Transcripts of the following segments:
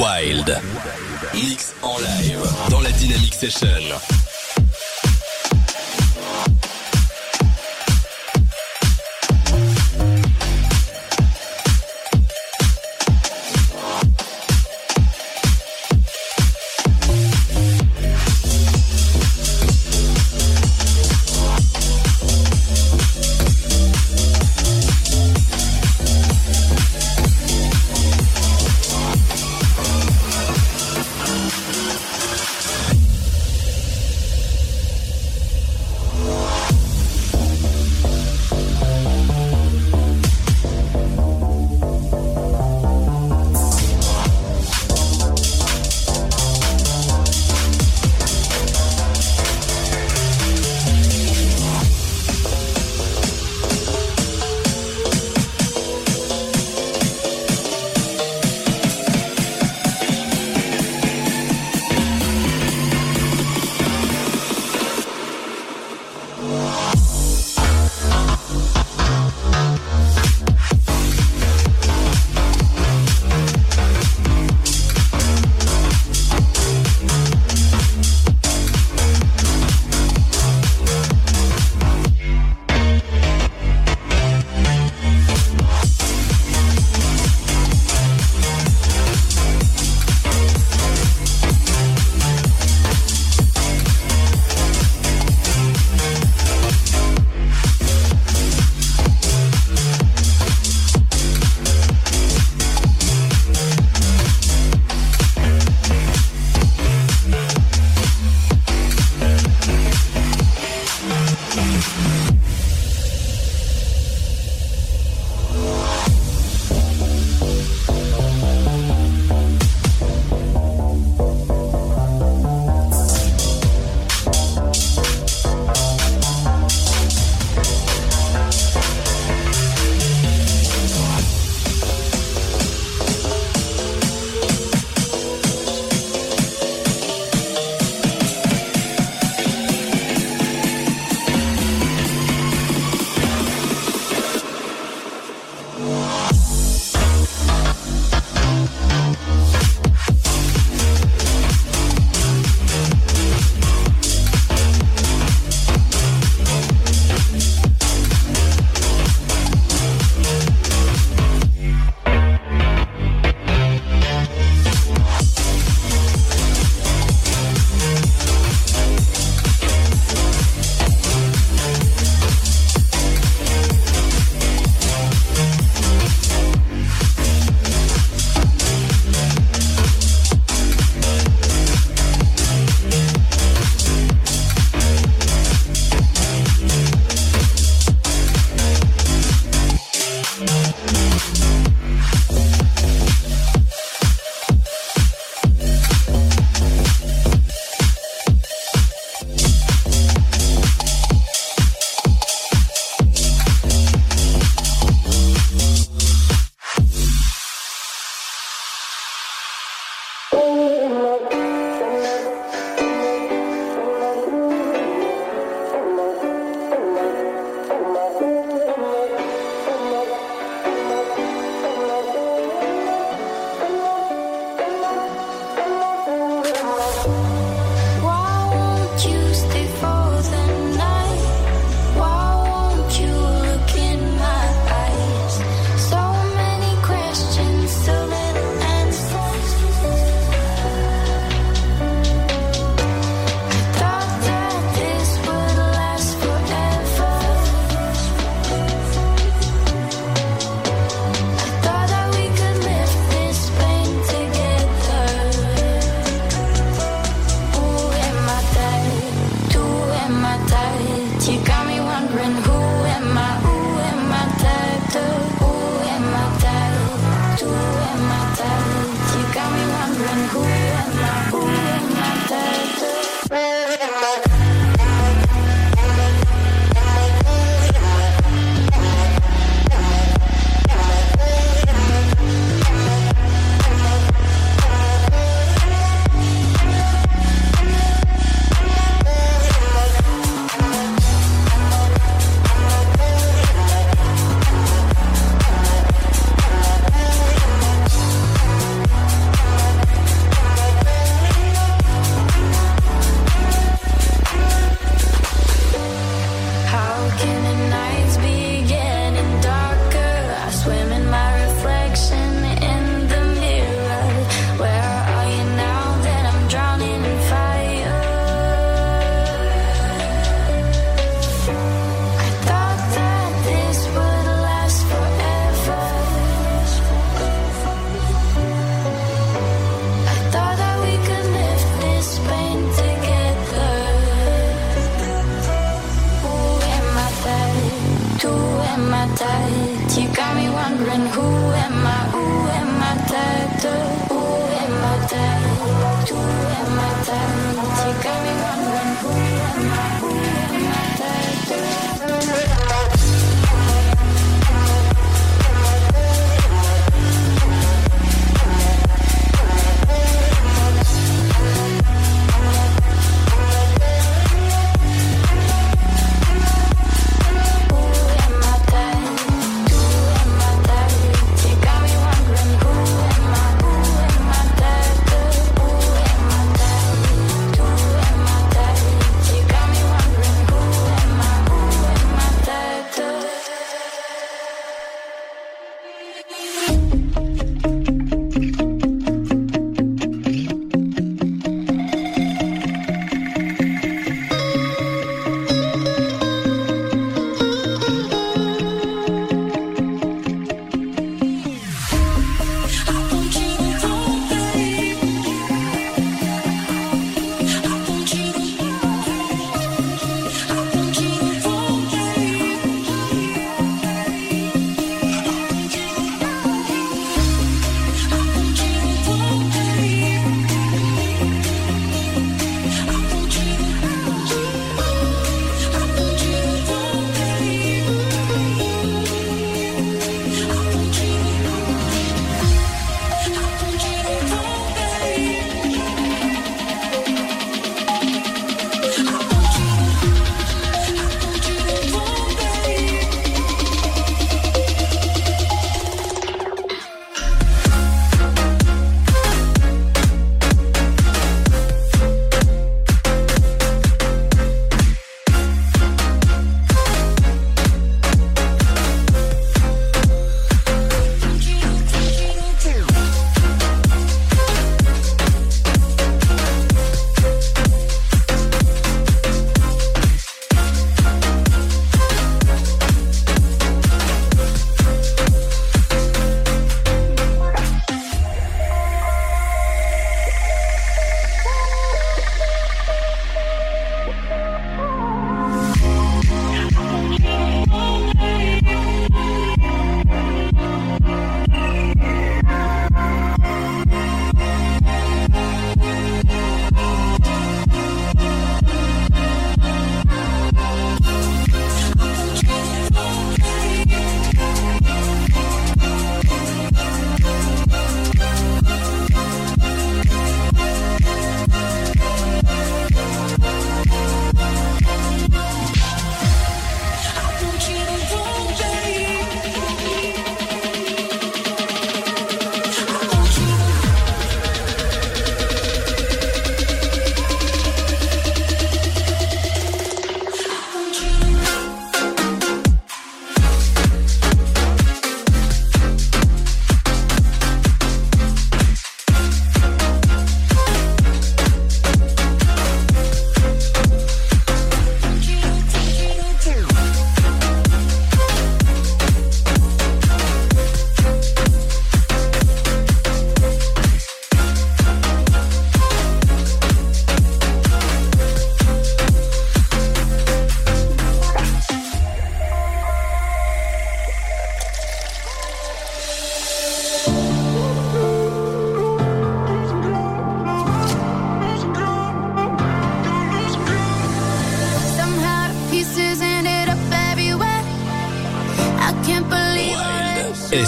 Wild. Mix en live dans la Dynamic Session.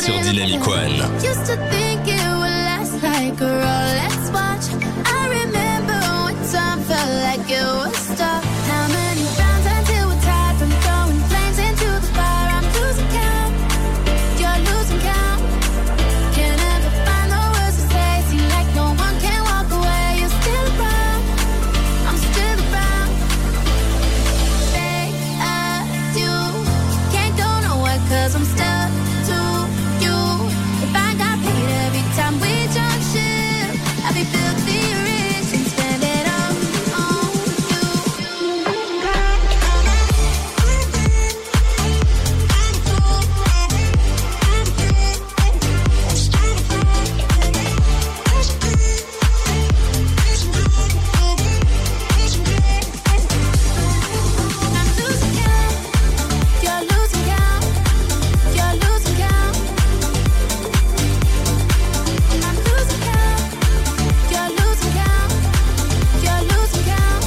sur Dynamic One. Used to think it would last like a Rolex watch. I remember when time felt like it was stuck. How many rounds until we're tired from throwing flames into the fire? I'm losing count, you're losing count. Can't ever find the words to say. Seem like no one can walk away. You're still around, I'm still around. Fake as you, can't go nowhere 'cause I'm stuck to you. If I got paid every time we jump ship, I'd be filthy rich and spend it all on you. I'm losing count, you're losing count, you're losing count. I'm losing count, you're losing count, you're losing count.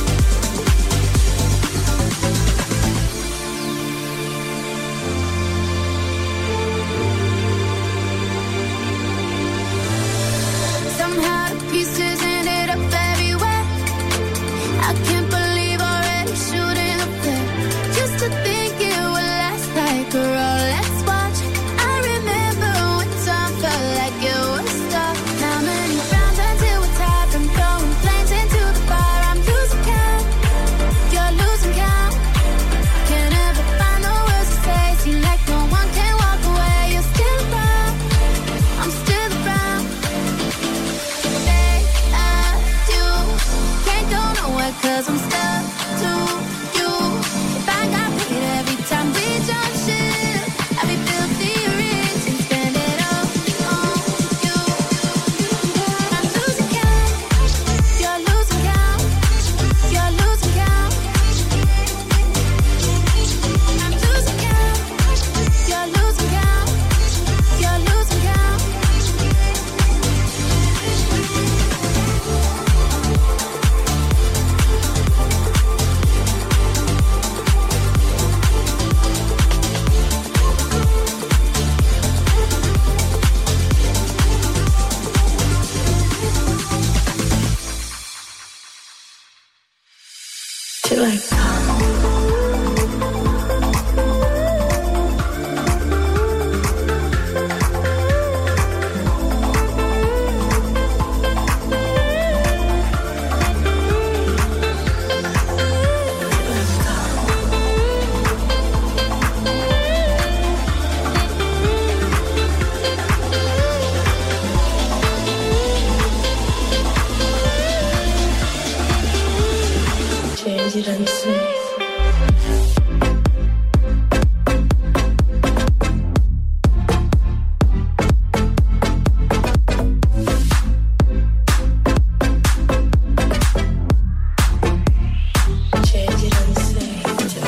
Somehow the pieces ended up everywhere. I can't believe already shooting up there. Used to think it would last like a Rolex watch. I remember when time felt like it was stuck. How many rounds until we're tired from throwing flames into the fire? I'm losing count, you're losing count. Can't ever find the words to say. Seem like no one can walk away. You're still around, I'm still around. Fake as you, can't go nowhere 'cause I'm stuck to you. If I got paid every time we jump ship, I'd be filthy rich and spend it all on you. I'm losing count, you're losing count, you're losing count. I'm losing count, you're losing count, you're losing count. Till I change it and say. Change it and say.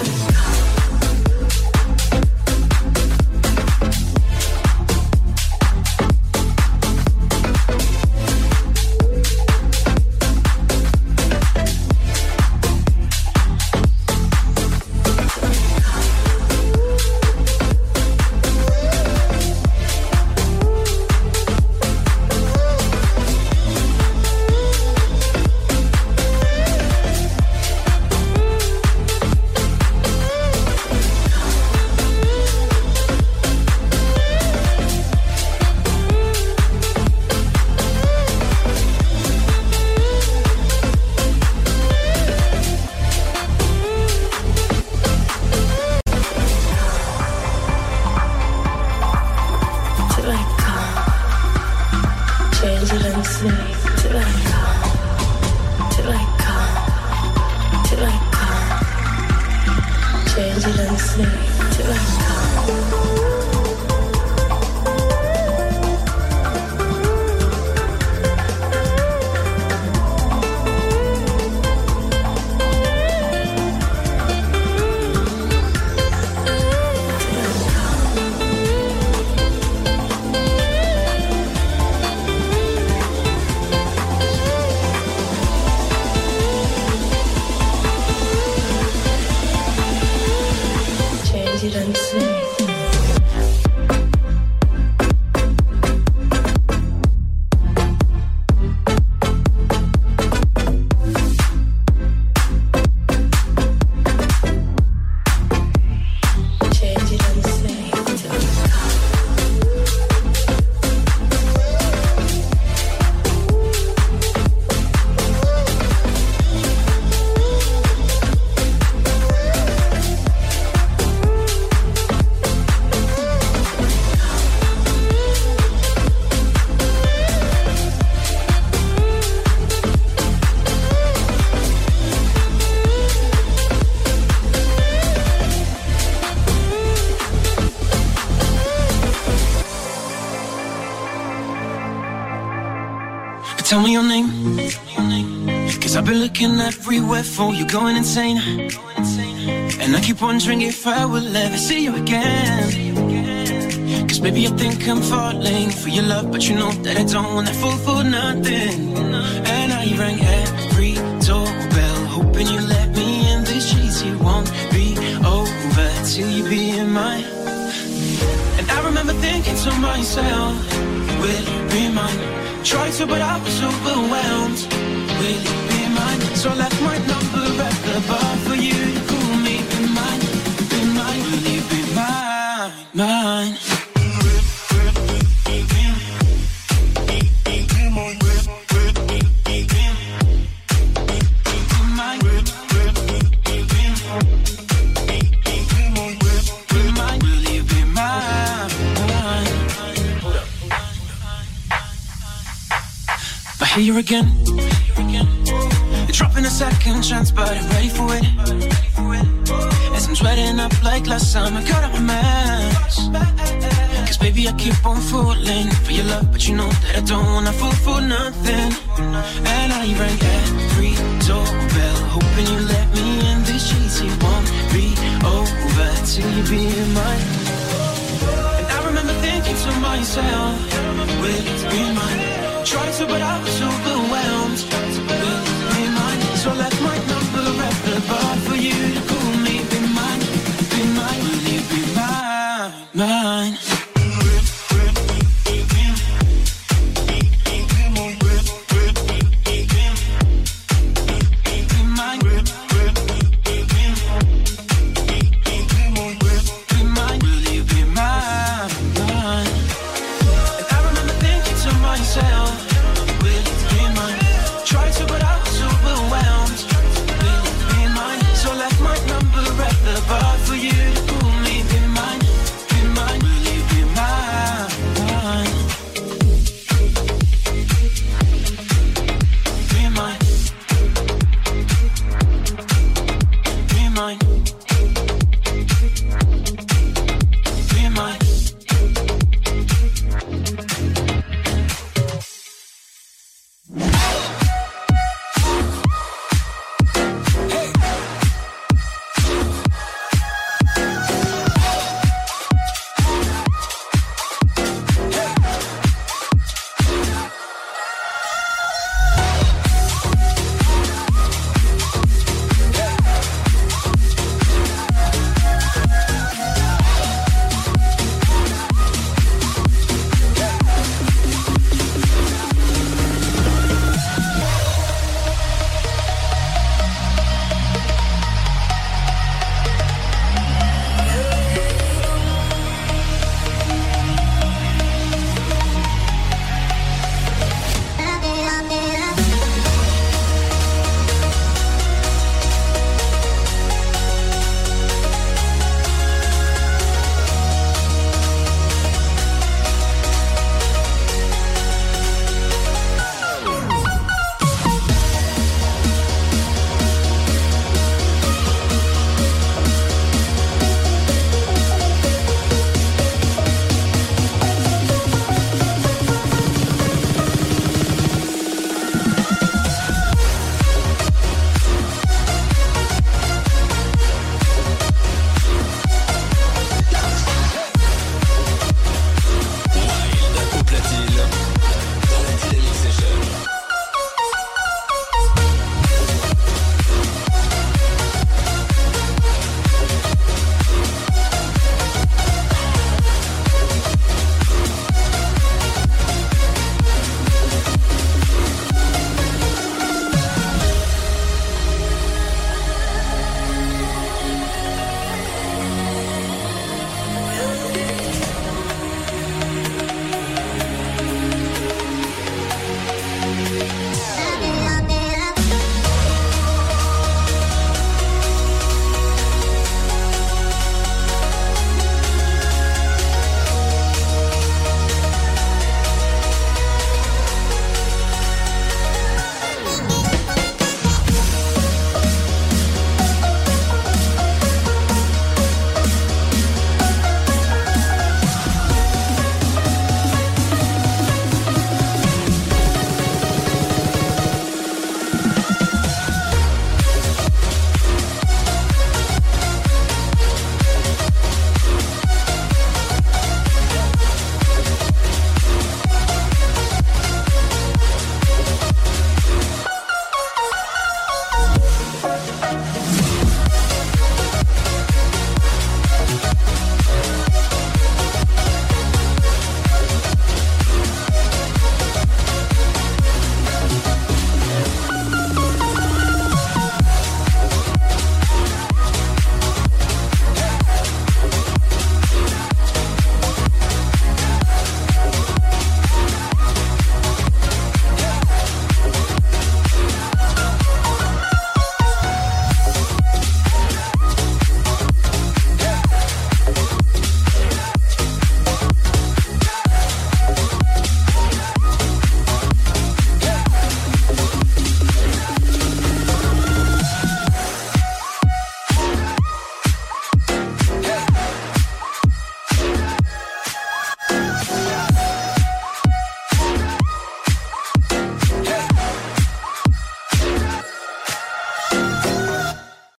Till I come, change it and say. Till I come, till I come, till I come, change it and say. Till I come. Change Tell me your name, 'cause I've been looking everywhere for you, going insane. And I keep wondering if I will ever see you again. 'Cause baby I think I'm falling for your love, but you know that I don't wanna fall for nothing. And I rang every doorbell, hoping you let me in. This cheesy won't be over till you be in mine. And I remember thinking to myself, will you be mine? Tried to, but I was overwhelmed. Will you be mine? So I left my number at the bar for you to call me. Be mine, be mine. Will you be mine, mine? Here again, dropping a second chance, but I'm ready for it. As I'm sweating up like last summer, cut up my mess. 'Cause baby I keep on falling for your love, but you know that I don't wanna fall for nothing. And I rang every doorbell, hoping you let me in. This cheesy won't be over till you be mine. And I remember thinking to myself, will you be mine? Tried to, but I was overwhelmed.